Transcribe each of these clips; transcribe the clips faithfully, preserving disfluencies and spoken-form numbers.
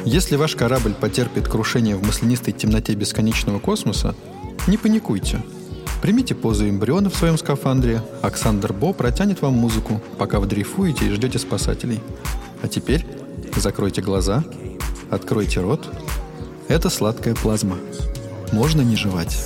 Если ваш корабль потерпит крушение в маслянистой темноте бесконечного космоса, не паникуйте. Примите позу эмбриона в своем скафандре. Оксандр Бо протянет вам музыку, пока вы дрейфуете и ждете спасателей. А теперь закройте глаза, откройте рот. Это сладкая плазма. Можно не жевать.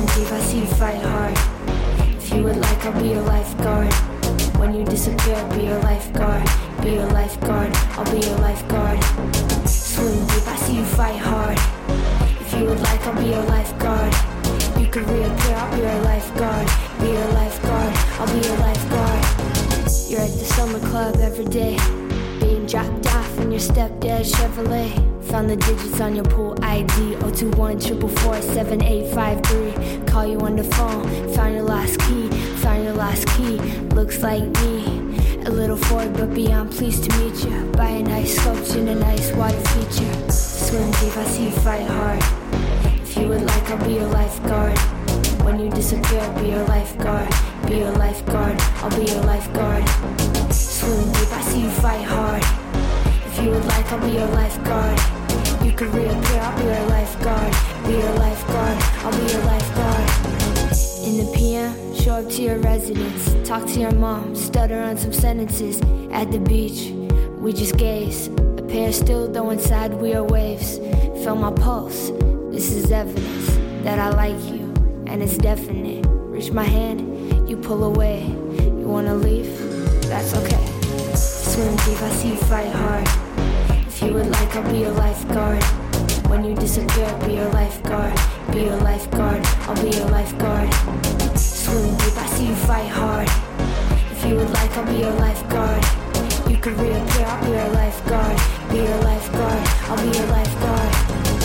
When you disappear, be your lifeguard. Be your lifeguard, I'll be your lifeguard. Swim deep, I see you fight hard. If you would like, I'll be your lifeguard. You could reappear, I'll be your lifeguard. Be your lifeguard, I'll be your lifeguard. You're at the summer club every day, being dropped off in your stepdad's Chevrolet. Found the digits on your pool I D, oh two one, four four, seven eight five three. Call you on the phone, found your last key. Found your last key, looks like me. A little forward but beyond, pleased to meet you. Buy a nice sculpture and a nice water feature. Swim deep, I see you fight hard. If you would like, I'll be your lifeguard. When you disappear, be your lifeguard. Be your lifeguard, I'll be your lifeguard. Swim deep, I see you fight hard. If you would like, I'll be your lifeguard. You could reappear, I'll be your lifeguard. Be your lifeguard, I'll be your lifeguard. In the P M, show up to your residence. Talk to your mom, stutter on some sentences. At the beach, we just gaze. A pair still, though inside we are waves. Feel my pulse, this is evidence that I like you, and it's definite. Reach my hand, you pull away. You wanna leave? That's okay. Swim deep, I see you fight hard. If you would like, I'll be your lifeguard. When you disappear, be your lifeguard. Be your lifeguard, I'll be your lifeguard. Swim deep, I see you fight hard. If you would like, I'll be your lifeguard. You could reappear, I'll be your lifeguard. Be your lifeguard, I'll be your lifeguard.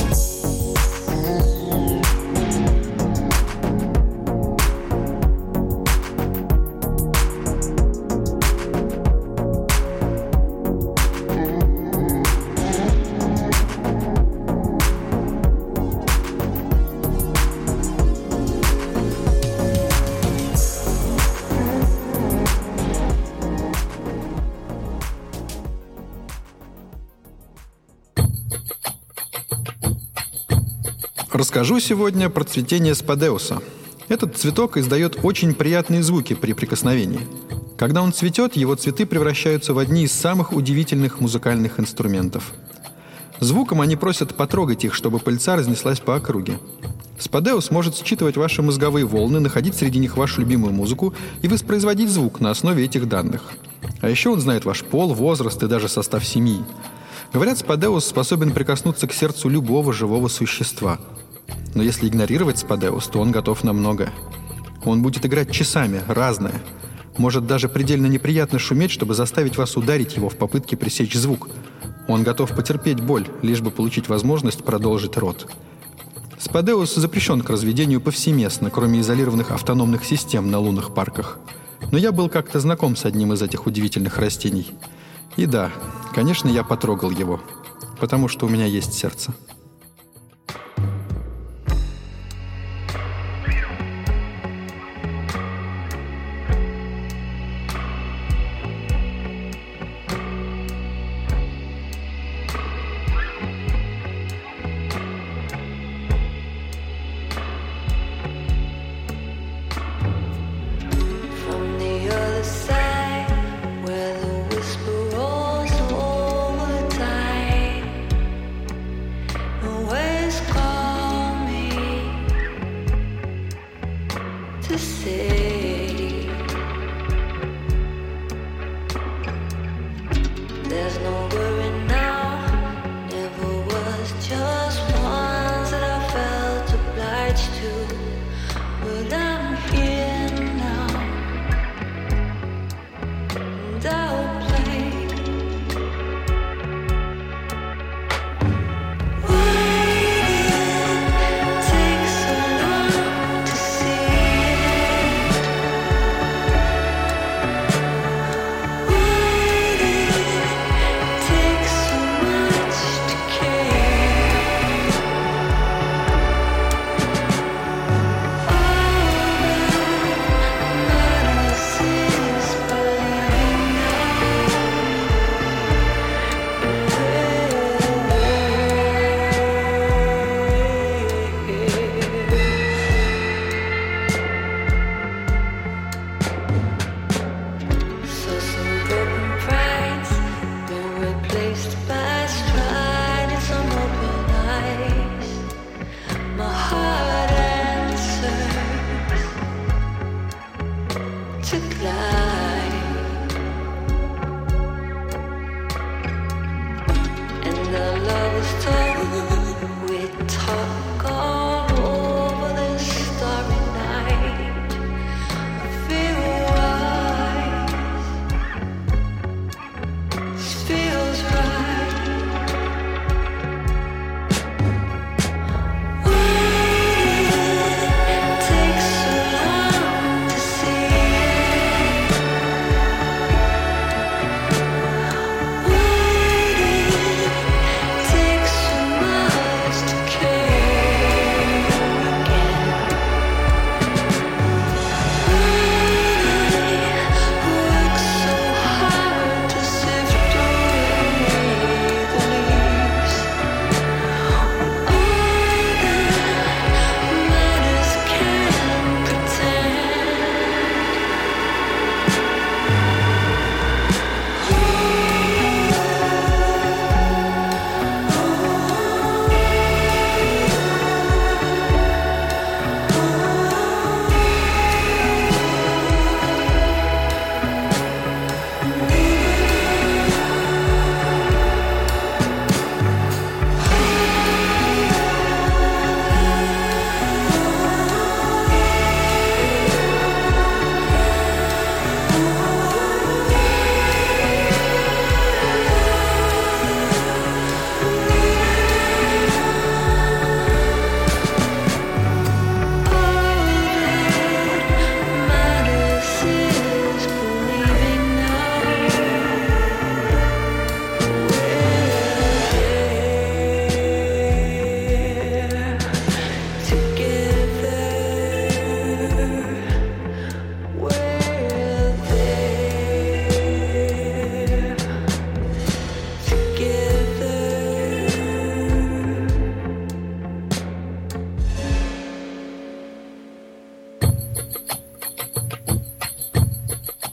Расскажу сегодня про цветение спадеуса. Этот цветок издает очень приятные звуки при прикосновении. Когда он цветет, его цветы превращаются в одни из самых удивительных музыкальных инструментов. Звуком они просят потрогать их, чтобы пыльца разнеслась по округе. Спадеус может считывать ваши мозговые волны, находить среди них вашу любимую музыку и воспроизводить звук на основе этих данных. А еще он знает ваш пол, возраст и даже состав семьи. Говорят, спадеус способен прикоснуться к сердцу любого живого существа. Но если игнорировать спадеус, то он готов на многое. Он будет играть часами, разное. Может даже предельно неприятно шуметь, чтобы заставить вас ударить его в попытке пресечь звук. Он готов потерпеть боль, лишь бы получить возможность продолжить род. Спадеус запрещен к разведению повсеместно, кроме изолированных автономных систем на лунных парках. Но я был как-то знаком с одним из этих удивительных растений. И да, конечно, я потрогал его, потому что у меня есть сердце.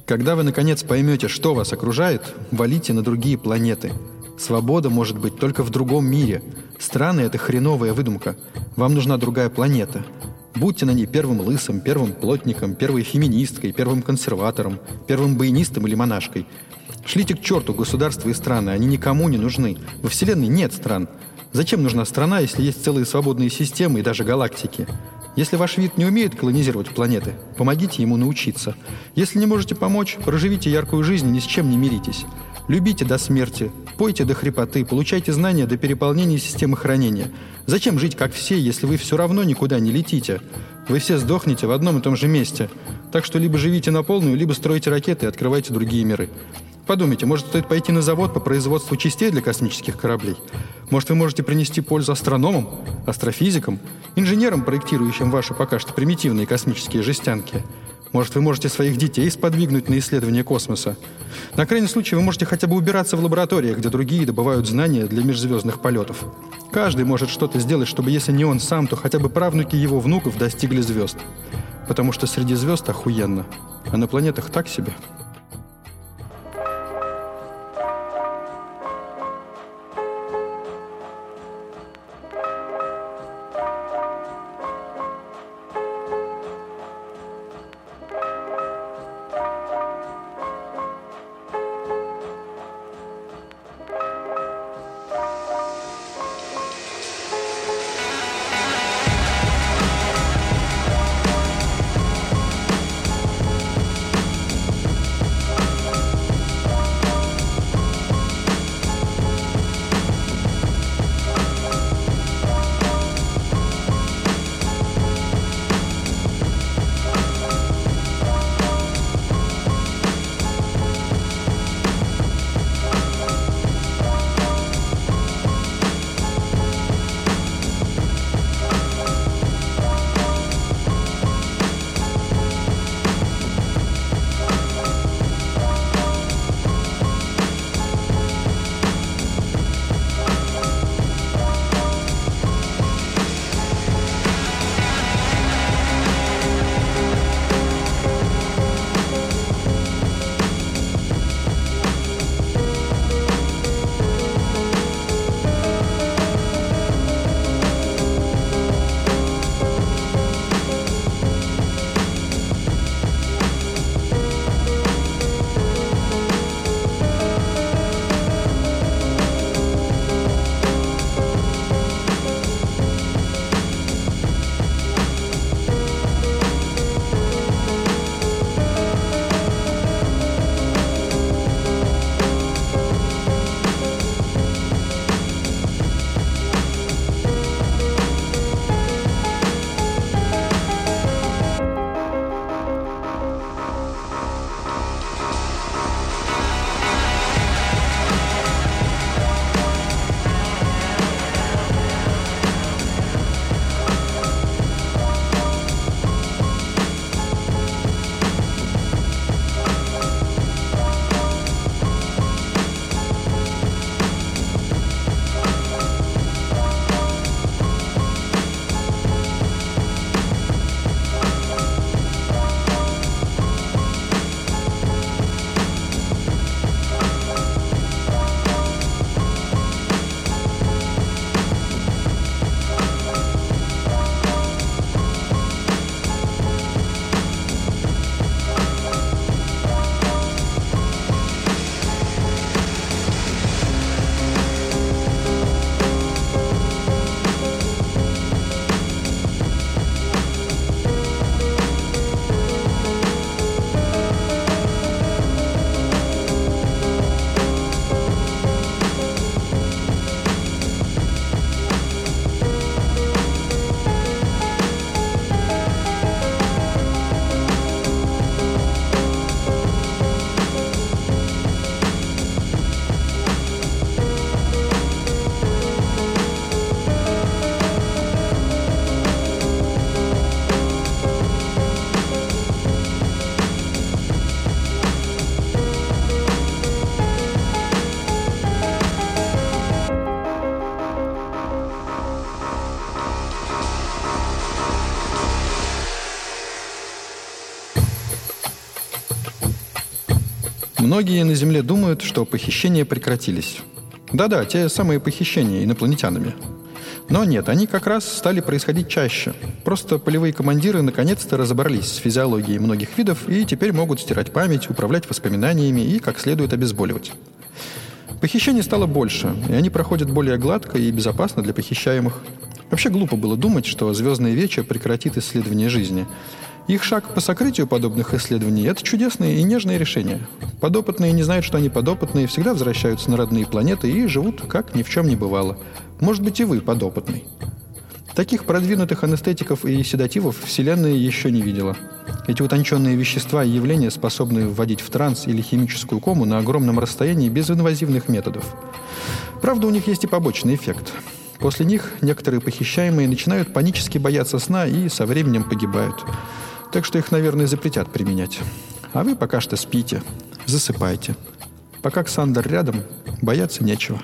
Когда вы, наконец, поймете, что вас окружает, валите на другие планеты. Свобода может быть только в другом мире. Страны — это хреновая выдумка. Вам нужна другая планета. Будьте на ней первым лысым, первым плотником, первой феминисткой, первым консерватором, первым баянистом или монашкой. Шлите к черту государства и страны, они никому не нужны. Во Вселенной нет стран. Зачем нужна страна, если есть целые свободные системы и даже галактики? Если ваш вид не умеет колонизировать планеты, помогите ему научиться. Если не можете помочь, проживите яркую жизнь и ни с чем не миритесь. Любите до смерти, пойте до хрипоты, получайте знания до переполнения системы хранения. Зачем жить как все, если вы все равно никуда не летите? Вы все сдохнете в одном и том же месте. Так что либо живите на полную, либо стройте ракеты и открывайте другие миры. Подумайте, может, стоит пойти на завод по производству частей для космических кораблей? Может, вы можете принести пользу астрономам, астрофизикам, инженерам, проектирующим ваши пока что примитивные космические жестянки? Может, вы можете своих детей сподвигнуть на исследование космоса? На крайний случай вы можете хотя бы убираться в лабораториях, где другие добывают знания для межзвездных полетов. Каждый может что-то сделать, чтобы, если не он сам, то хотя бы правнуки его внуков достигли звезд. Потому что среди звезд охуенно, а на планетах так себе. Многие на Земле думают, что похищения прекратились. Да-да, те самые похищения инопланетянами. Но нет, они как раз стали происходить чаще. Просто полевые командиры наконец-то разобрались с физиологией многих видов и теперь могут стирать память, управлять воспоминаниями и как следует обезболивать. Похищений стало больше, и они проходят более гладко и безопасно для похищаемых. Вообще глупо было думать, что «Звездное вече» прекратит исследование жизни. Их шаг по сокрытию подобных исследований – это чудесное и нежное решение. Подопытные не знают, что они подопытные, всегда возвращаются на родные планеты и живут, как ни в чем не бывало. Может быть, и вы подопытный. Таких продвинутых анестетиков и седативов Вселенная еще не видела. Эти утонченные вещества и явления способны вводить в транс или химическую кому на огромном расстоянии без инвазивных методов. Правда, у них есть и побочный эффект. После них некоторые похищаемые начинают панически бояться сна и со временем погибают. Так что их, наверное, запретят применять. А вы пока что спите, засыпайте. Пока Ксандр рядом, бояться нечего.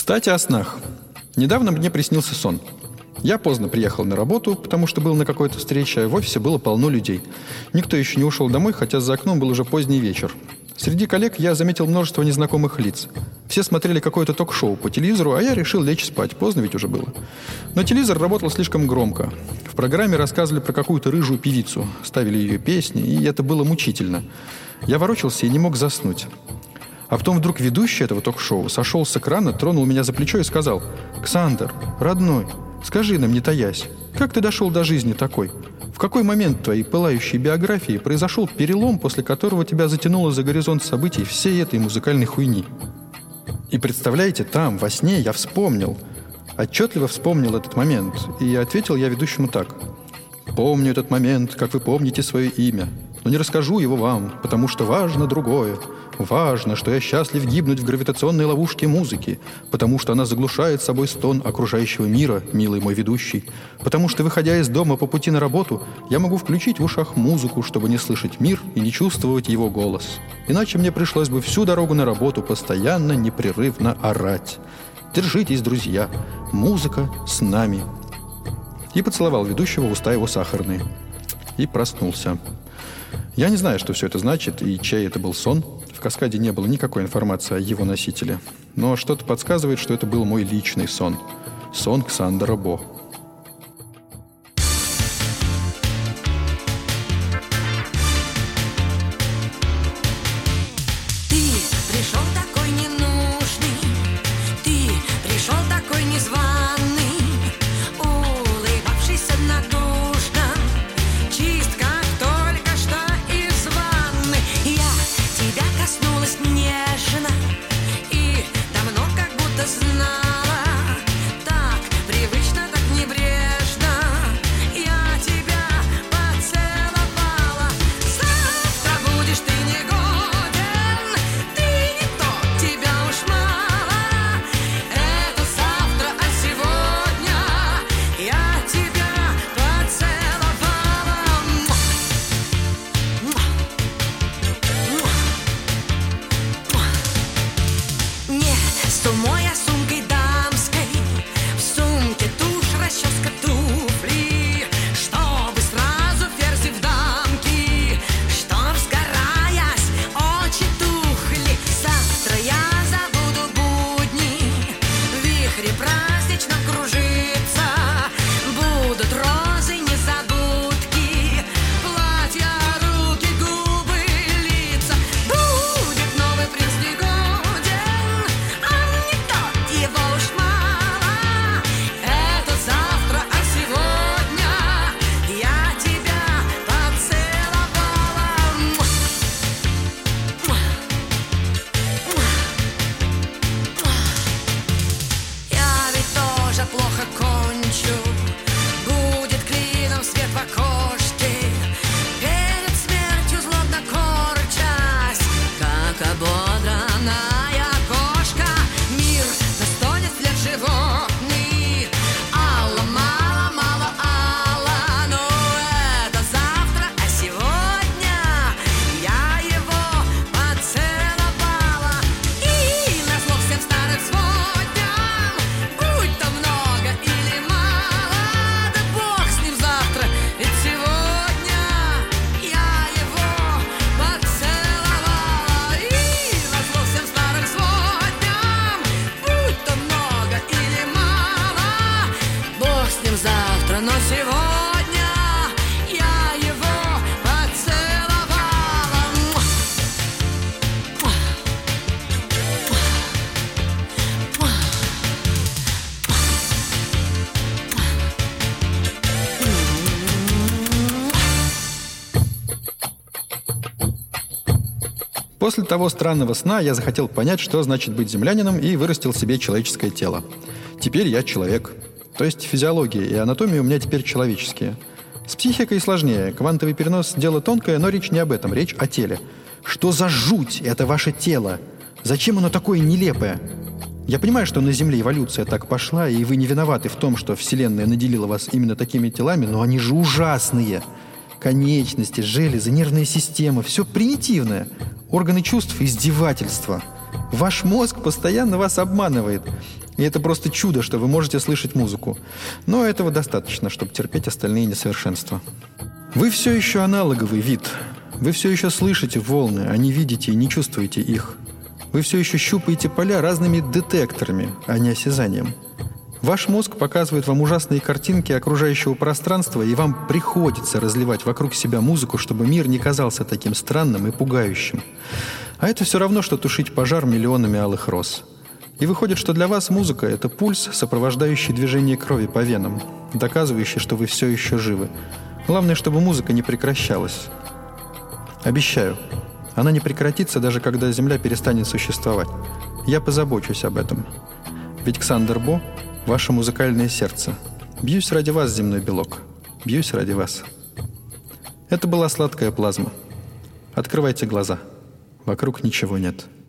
Кстати, о снах. Недавно мне приснился сон. Я поздно приехал на работу, потому что был на какой-то встрече, а в офисе было полно людей. Никто еще не ушел домой, хотя за окном был уже поздний вечер. Среди коллег я заметил множество незнакомых лиц. Все смотрели какое-то ток-шоу по телевизору, а я решил лечь спать. Поздно ведь уже было. Но телевизор работал слишком громко. В программе рассказывали про какую-то рыжую певицу. Ставили ее песни, и это было мучительно. Я ворочался и не мог заснуть. А потом вдруг ведущий этого ток-шоу сошел с экрана, тронул меня за плечо и сказал: «Ксандр, родной, скажи нам, не таясь, как ты дошел до жизни такой? В какой момент твоей пылающей биографии произошел перелом, после которого тебя затянуло за горизонт событий всей этой музыкальной хуйни?» И представляете, там, во сне, я вспомнил, отчетливо вспомнил этот момент, и ответил я ведущему так: «Помню этот момент, как вы помните свое имя, но не расскажу его вам, потому что важно другое. Важно, что я счастлив гибнуть в гравитационной ловушке музыки, потому что она заглушает собой стон окружающего мира, милый мой ведущий, потому что, выходя из дома по пути на работу, я могу включить в ушах музыку, чтобы не слышать мир и не чувствовать его голос. Иначе мне пришлось бы всю дорогу на работу постоянно, непрерывно орать. Держитесь, друзья, музыка с нами». И поцеловал ведущего в уста его сахарные. И проснулся. Я не знаю, что все это значит и чей это был сон. В «Каскаде» не было никакой информации о его носителе. Но что-то подсказывает, что это был мой личный сон. Сон Ксандера Бо. Ты пришел такой ненужный, ты пришел такой незваный, улыбавшийся натужно, чист, как только что из ванны. Я тебя коснулась нежно и давно как будто знала, так привычно, так небрежно я тебя поцеловала. Завтра будешь ты негоден, ты не тот, тебя уж мало. Это завтра, а сегодня я тебя поцеловала. Не с тумой, а сумкой дамской, в сумке тушь, расческа, туфли, чтобы сразу ферзь в дамки, чтоб, сгораясь, очи тухли. Завтра я забуду будни, в вихре празднично кружиться, будут розы, незабудки, платья, руки, губы, лица. Будет новый принц негоден, он не тот, его уж мало. Это завтра, а сегодня я тебя поцеловала. Я ведь тоже плохо кончу, будет клином свет в окошке, перед смертью злобно корчась, как ободранная кошка. Мир настонет вслед животный, алла, мало, мало, алла. Но это завтра, а сегодня я его поцеловала. И назло всем старым сводням, будь то много или мало, да бог с ним завтра, ведь сегодня я его поцеловала. И назло всем старым сводням, будь то много или мало, бог с ним завтра, но сегодня я его поцеловала. После того странного сна я захотел понять, что значит быть землянином, и вырастил себе человеческое тело. Теперь я человек. То есть физиология и анатомия у меня теперь человеческие. С психикой сложнее. Квантовый перенос – дело тонкое, но речь не об этом, речь о теле. Что за жуть это ваше тело? Зачем оно такое нелепое? Я понимаю, что на Земле эволюция так пошла, и вы не виноваты в том, что Вселенная наделила вас именно такими телами, но они же ужасные. Конечности, железы, нервная система – все примитивное. Органы чувств – издевательство. Ваш мозг постоянно вас обманывает. И это просто чудо, что вы можете слышать музыку. Но этого достаточно, чтобы терпеть остальные несовершенства. Вы все еще аналоговый вид. Вы все еще слышите волны, а не видите и не чувствуете их. Вы все еще щупаете поля разными детекторами, а не осязанием. Ваш мозг показывает вам ужасные картинки окружающего пространства, и вам приходится разливать вокруг себя музыку, чтобы мир не казался таким странным и пугающим. А это все равно, что тушить пожар миллионами алых роз. И выходит, что для вас музыка — это пульс, сопровождающий движение крови по венам, доказывающий, что вы все еще живы. Главное, чтобы музыка не прекращалась. Обещаю, она не прекратится, даже когда Земля перестанет существовать. Я позабочусь об этом. Ведь Ксандер Бо — ваше музыкальное сердце. Бьюсь ради вас, земной белок. Бьюсь ради вас. Это была сладкая плазма. Открывайте глаза. Вокруг ничего нет.